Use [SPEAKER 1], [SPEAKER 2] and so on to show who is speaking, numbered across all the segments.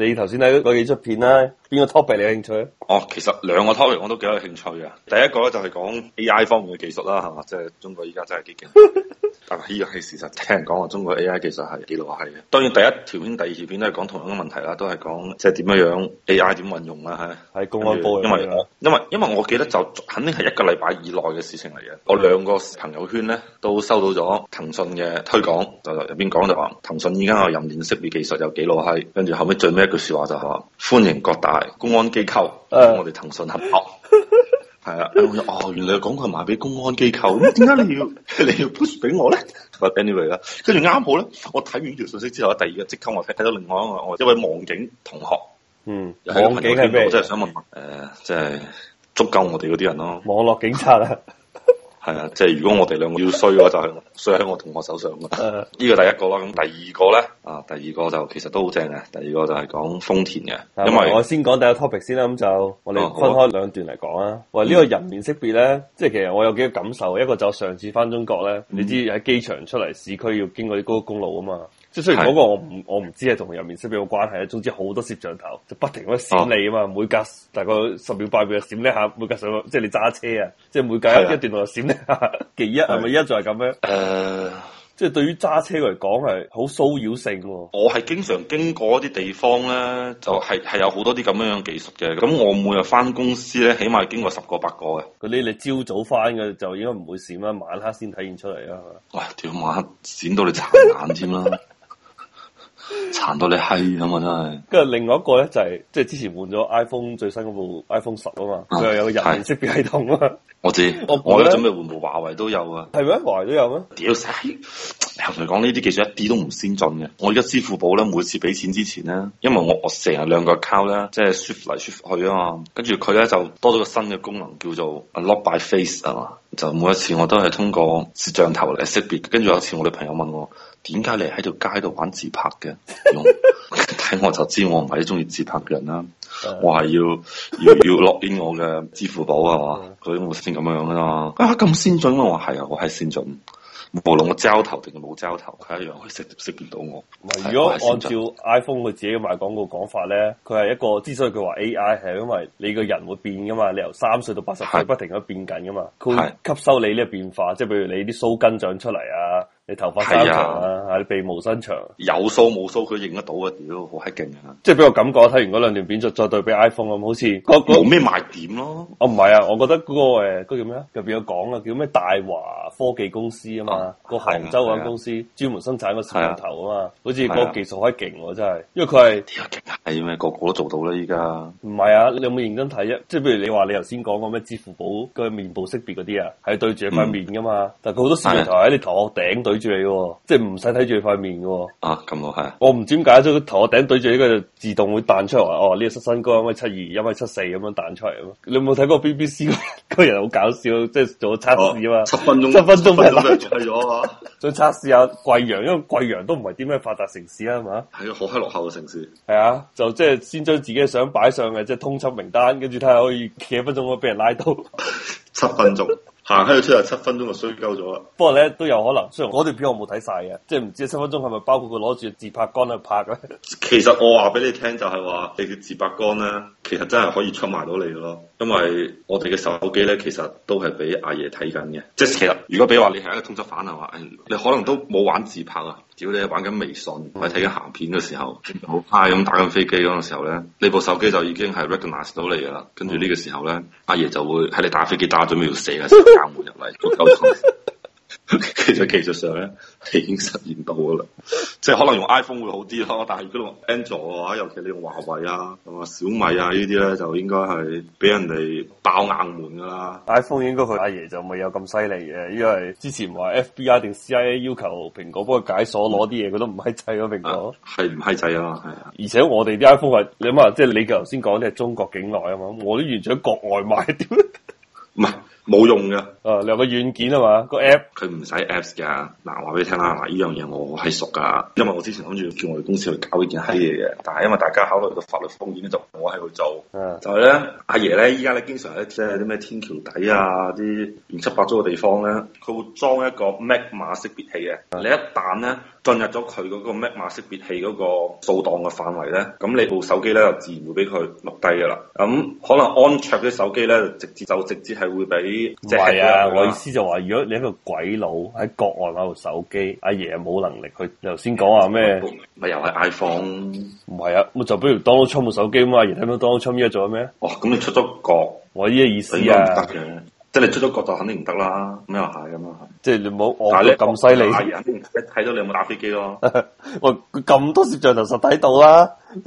[SPEAKER 1] 你頭先睇嗰幾出片啦，邊個 topic 你有興趣？
[SPEAKER 2] 哦，其實兩個 topic 我都幾有興趣嘅。第一個咧就係講 AI 方面嘅技術啦，係嘛？即係中國依家真係幾勁。但係呢個係事實，聽人講話中國 AI 技術係幾落後嘅。當然第一條片、第二條片都係講同樣嘅問題啦，都係講即係點樣 AI 點運用啦，係
[SPEAKER 1] 喺公安部。
[SPEAKER 2] 因為我記得就肯定係一個禮拜以內嘅事情嚟嘅。我兩個朋友圈咧都收到咗騰訊嘅推廣，就入邊講就話騰訊依家個人臉識別技術有幾落後，跟住後尾最尾一句說話就係話歡迎各大公安機構同我哋騰訊合作。係啊，哦，原來講佢賣俾公安機構，咁點解你要 push 俾我咧？Anyway 啦，跟住啱好咧，我睇完呢條信息之後，第二日即刻我睇到另外一位網警同學，
[SPEAKER 1] 網警係咩？
[SPEAKER 2] 我真係想問，即係捉鳩我哋嗰啲人咯，
[SPEAKER 1] 網絡警察啊。
[SPEAKER 2] 係啊，即係如果我哋兩個要衰嘅話，就係衰喺我同學手上啊！呢個第一個啦，咁第二個咧第二個就其實都好正嘅。第二個就係講豐田嘅，因為
[SPEAKER 1] 我先講第一個 topic 先啦，咁就我哋分開兩段嚟講啊。喂，呢個人面識別咧，即係其實我有幾個感受，一個就上次翻中國咧，你知喺機場出嚟市區要經過啲高速公路啊嘛。即係雖然嗰個我唔知係同人面識別有關係啊，總之好多攝像頭就不停咁閃你啊嘛，每隔大概10秒8秒就閃一下，每隔10即係你揸車啊，即係每隔一段路就閃一下。其一係咪一就係咁樣？即係對於揸車嚟講係好騷擾性。
[SPEAKER 2] 我係經常經過一啲地方咧，就係有好多啲咁樣嘅技術嘅。咁我每日翻公司咧，起碼經過10個8個嘅。
[SPEAKER 1] 嗰啲你朝早翻嘅就應該唔會閃啦，晚黑先體現出嚟啦。
[SPEAKER 2] 喂，屌晚黑閃到你殘眼添啦！殘到你閪咁啊！真係。跟
[SPEAKER 1] 住另外一個咧就係即係之前換咗 iPhone 最新嗰部 iPhone 10啊嘛，佢又有個人臉識別系統啊嘛。
[SPEAKER 2] 我知，我而家準備換部華為都有啊。
[SPEAKER 1] 係咩？華為都有咩？
[SPEAKER 2] 屌死！我同你講呢啲技術一啲都唔先進嘅。我而家支付寶咧，每次俾錢之前咧，因為我成日兩個 account 咧，即係 shift 嚟 shift 去啊嘛。跟住佢咧就多咗個新嘅功能叫做 unlock by face 啊嘛。就每一次我都係通過攝像頭嚟識別。跟住有一次我女朋友問我，點解你喺條街度玩自拍嘅？睇我就知我唔係啲中意自拍嘅人啦。我係要 lock in 我嘅支付寶啊嘛。佢我先咁樣噶嘛。咁先進啊！我係啊，我係先進。無論我膠頭定係冇膠頭，佢一樣可以識別到我。
[SPEAKER 1] 如果按照 iPhone 佢自己賣廣告講法咧，佢係一個之所以佢話 AI 係因為你個人會變噶嘛，你由3歲到80歲不停咁變緊噶嘛，佢會吸收你呢個變化，即係譬如你啲鬚根長出嚟啊。你頭髮生長啊，你鼻毛伸長，
[SPEAKER 2] 有鬚冇鬚佢認得到啊！屌，好閪勁啊！
[SPEAKER 1] 即係俾我感覺，睇完嗰兩段片再對比 iPhone 咁，好似
[SPEAKER 2] 冇咩賣點咯。
[SPEAKER 1] 哦，唔係啊，我覺得嗰個叫咩啊？入邊有講啊，叫咩大華科技公司啊嘛，個杭州嗰間公司專門生產個攝像頭啊嘛，好似嗰個技術好勁喎，真係，因為佢係
[SPEAKER 2] 屌勁係咩？個個都做到啦依家。
[SPEAKER 1] 唔係啊，你有冇認真睇啊？即係譬如你話你頭先講個咩支付寶個面部識別嗰啲啊，係對住你塊面噶嘛，但係佢好多攝像頭喺你頭殼頂對住你嘅，即係唔使睇住你塊面嘅。
[SPEAKER 2] 咁我係。
[SPEAKER 1] 我唔知點解，咗個頭殼頂對住呢個就自動會彈出嚟話，哦呢個身高1.72米、1.74米咁樣彈出嚟咯。你有冇睇過 BBC 嗰個人好搞笑，即係做測試啊嘛？7分鐘俾人拉住咗啊！再測試下貴陽，因為貴陽都唔係啲咩發達城市啊嘛。
[SPEAKER 2] 係啊，好閪落後嘅城市。
[SPEAKER 1] 係啊，就即係先將自己嘅相擺上嘅，即係通緝名單，跟住睇下可以幾多分鐘可以俾人拉到。
[SPEAKER 2] 7分鐘。行喺度出嚟7分鐘就衰鳩咗啦。不
[SPEAKER 1] 過咧都有可能，雖然嗰段片我冇睇晒嘅，即係唔知7分鐘係咪包括佢攞住自拍杆去拍咧？
[SPEAKER 2] 其實我話俾你聽就係話，你嘅自拍杆咧，其實真係可以出賣到你嘅咯。因為我哋嘅手機咧，其實都係俾阿爺睇緊嘅。即係其實如果比如話你係一個通緝犯嘅話，你可能都冇玩自拍啊。只要你玩緊微信或者睇緊鹹片嘅時候，好嗨咁打緊飛機嗰個時候咧，你部手機就已經係 recognize 到你噶啦。跟住呢個時候咧，阿爺就會喺你打飛機打準備要射嘅時候敲門入嚟做溝通。其實技術上咧係已經實現到噶啦，即係可能用 iPhone 會好啲咯，但係如果用 Android 嘅話，尤其你用華為啊、同埋小米啊呢啲咧，就應該係俾人哋爆硬門噶啦。
[SPEAKER 1] iPhone 應該佢阿爺就未有咁犀利嘅，因為之前話 FBI 定 CIA 要求蘋果幫佢解鎖攞啲嘢，佢都唔閪制咯，蘋果
[SPEAKER 2] 係唔閪制啊，係啊。
[SPEAKER 1] 而且我哋啲 iPhone 係你諗下，即係你頭先講啲係中國境內啊嘛，我啲完全喺國外買，點？
[SPEAKER 2] 唔係。 冇用嘅。
[SPEAKER 1] 你有個軟件啊嘛，個 app
[SPEAKER 2] 佢唔使 apps 㗎。嗱，話俾你聽啦，嗱，呢樣嘢我係熟㗎，因為我之前諗住叫我哋公司去搞呢件閪嘢嘅，但係因為大家考慮到法律風險咧，就我喺度做。就係咧，阿爺咧，依家咧經常咧，即係啲咩天橋底啊，啲亂七八糟嘅地方咧，佢會裝一個 Mac 碼識別器嘅。你一旦咧進入咗佢嗰個 Mac 碼識別器嗰個掃檔嘅範圍咧，咁你部手機咧就自然會俾佢錄低㗎啦。咁可能安卓啲手機咧，直接係會俾即係啊！
[SPEAKER 1] 我意思就話，如果你一個鬼佬喺國外攞部手機，阿爺冇能力去。你頭先講話咩？
[SPEAKER 2] 咪又係 iPhone？
[SPEAKER 1] 唔係啊，咁就比如 Donald Trump 部手機咁啊，阿爺睇到 Donald Trump 依家做緊咩？
[SPEAKER 2] 哦，咁你出咗國，
[SPEAKER 1] 我呢個意思啊，
[SPEAKER 2] 應該唔得嘅。即係你出咗國就肯定唔得啦，咁又係咁啊，係。
[SPEAKER 1] 即係你冇我咁犀利，
[SPEAKER 2] 阿爺肯定一睇到你有冇打飛機咯。
[SPEAKER 1] 喂，佢咁多攝像頭實睇到啦。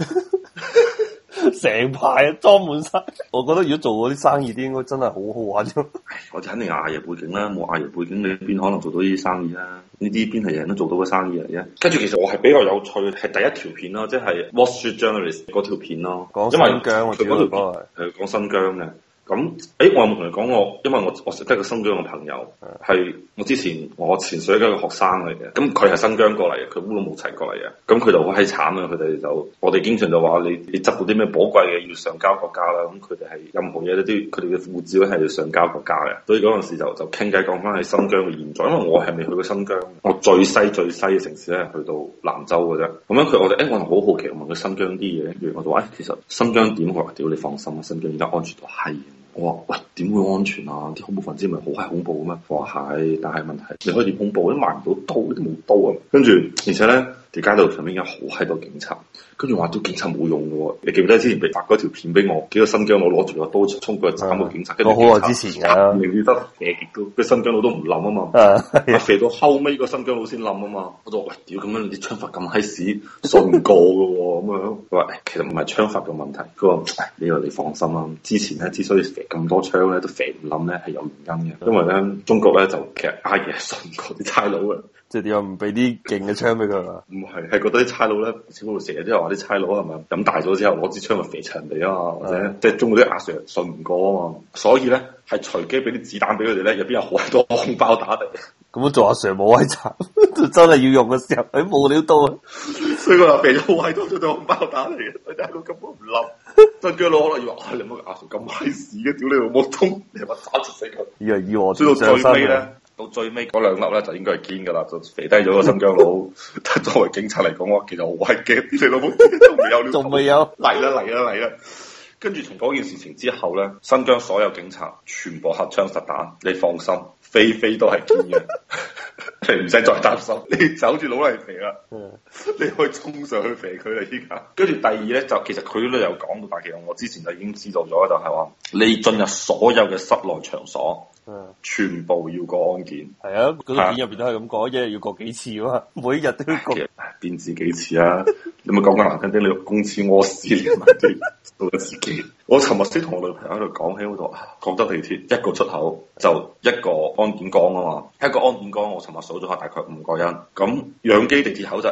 [SPEAKER 1] 成排裝滿晒，我覺得如果做嗰啲生意啲，應該真係好好玩啫。
[SPEAKER 2] 我哋肯定有阿爺背景啦，冇阿爺背景你邊可能做到呢啲生意啦？呢啲邊係人都做到嘅生意嚟嘅。跟住其實我係比較有趣，係第一條片咯，即係 Wall Street Journalist 嗰條片咯，
[SPEAKER 1] 講新疆我知嗰條
[SPEAKER 2] 係講新疆嘅。咁，我有冇同你講過？因為我識得個新疆嘅朋友，係我前水嘅一個學生嚟嘅。咁佢係新疆過嚟嘅，佢烏魯木齊過嚟嘅。咁佢就好閪慘啊！佢哋就我哋經常就話你執到啲咩寶貴嘅要上交國家啦。咁佢哋係任何嘢都佢哋嘅護照咧係要上交國家嘅。所以嗰陣時就傾偈講翻喺新疆嘅現狀。因為我係未去過新疆，我最西嘅城市咧係去到蘭州嘅啫。咁樣我哋好好奇，我問佢新疆啲嘢，跟住我就話其實新疆點？佢話屌你放心啊，新疆而家安全到閪。我話喂，點會安全啊？啲恐怖分子咪好閪恐怖嘅咩？我話係，但係問題你可以點恐怖？都買唔到刀，都冇刀啊！跟住而且咧，條街道上面有好閪多警察，跟住話啲警察冇用嘅喎。你記唔記得之前被發嗰條片俾我？幾個新疆佬攞住個刀衝過去斬個警察，跟住
[SPEAKER 1] 好耐之前㗎，
[SPEAKER 2] 你記得射極都，個新疆佬都唔冧啊嘛，射到後尾個新疆佬先冧啊嘛。我就話喂，屌咁樣啲槍法咁閪屎，信唔過嘅喎咁樣。佢話其實唔係槍法嘅問題。佢話呢個你放心啦，之前咧之所以咁多槍咧都射唔冧咧係有原因嘅，因為咧中國咧就其實阿爺信唔過啲差佬嘅。
[SPEAKER 1] 即係點解唔俾啲勁嘅槍俾佢啊？
[SPEAKER 2] 唔係，係覺得啲差佬咧，似乎成日都有話啲差佬係咪飲大咗之後攞支槍去射人哋啊嘛，或者即係中國啲阿 Sir 信唔過啊嘛，所以咧係隨機俾啲子彈俾佢哋咧，入邊有好多空包打嚟。
[SPEAKER 1] 咁樣做阿 Sir 冇閪慘，真係要用嘅時候，佢冇料到啊！
[SPEAKER 2] 所以佢話俾咗好閪多張空包打嚟嘅，佢大佬根本唔冧。新疆佬可能要話：你冇阿 Sir 咁閪屎嘅，屌你老母通，你係咪打死佢？
[SPEAKER 1] 以我
[SPEAKER 2] 追到最尾咧。到最尾嗰兩粒咧就應該係堅噶啦，就肥低咗個新疆佬。但作為警察嚟講，我其實好閪驚，啲你老母仲未有，
[SPEAKER 1] 仲未有
[SPEAKER 2] 嚟啦！跟住從嗰件事情之後咧，新疆所有警察全部荷槍實彈，你放心，飛都係堅嘅，你唔使再擔心，你走住攞嚟肥啦，你可以衝上去肥佢啦依家。跟住第二咧就其實佢都有講到，但其實我之前就已經知道咗，就係話你進入所有嘅室內場所。全部要過安檢。係啊，
[SPEAKER 1] 嗰條片入邊都係咁講，一日要過幾次啊嘛，每一日都要過。
[SPEAKER 2] 邊止幾次啊？你咪講緊難聽啲，你公廁屙屎連埋啲到咗自己。我尋日先同我女朋友喺度講起嗰度，廣州地鐵一個出口就一個安檢崗啊嘛，一個安檢崗我尋日數咗下大概5個人。咁楊箕地鐵口就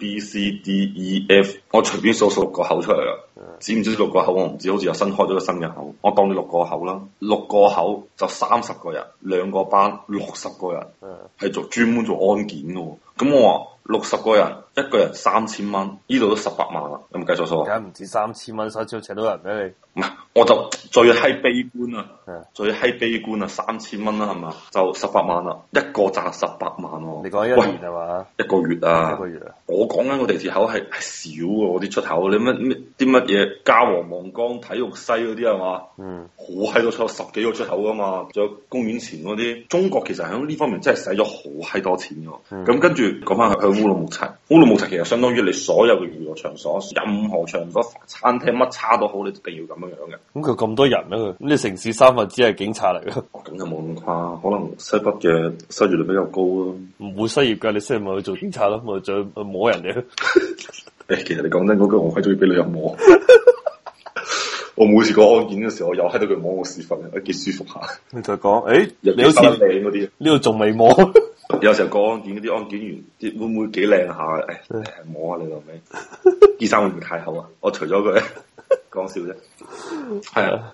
[SPEAKER 2] A、B、C、D、E、F， 我隨便數6個口出嚟啦。知唔知6個口我唔知，好似又新開咗個新嘅口，我當你6個口啦，6個口就30個人，2個班60個人，係專門做安檢嘅。咁我話60個人，一個人3000蚊，呢度都18萬啦，有冇計錯數啊？
[SPEAKER 1] 梗唔止3000蚊，所以請到人俾你。
[SPEAKER 2] 唔係，我就最閪悲觀啊，最閪悲觀啊，3000蚊啦係嘛，就18萬啦，一個賺18萬喎。你講一年係嘛？一個月啊，一個月啊。我講緊個地鐵口係少嘅，我啲出口，你乜嘢嘉禾望崗體育西嗰啲係嘛？好閪多出口，10幾個出口噶嘛，仲有公園前嗰啲。中國其實喺呢方面真係使咗好閪多錢嘅。咁跟住講翻去烏魯木齊，烏魯木齊其實相當於你所有嘅娛樂場所，任何場所、餐廳乜叉都好，你一定要咁樣樣嘅。咁佢咁多人啊，咁你城市3分之一係警察嚟嘅。咁就冇咁誇，可能西北嘅失業率比較高咯。唔會失業㗎，你失業咪去做警察咯，咪再去摸人哋咯。誒，其實你講真嗰句，我係中意俾女人摸。我每次過安檢嘅時候，我又喺度佢摸我屎忽，都幾舒服下。你就講，誒，你好似靚嗰啲，呢度仲未摸。有時候過安檢嗰啲安檢員，會唔會幾靚下？誒，摸下你老味。啲衫會唔會太厚啊？我除咗佢，講笑啫。係啊。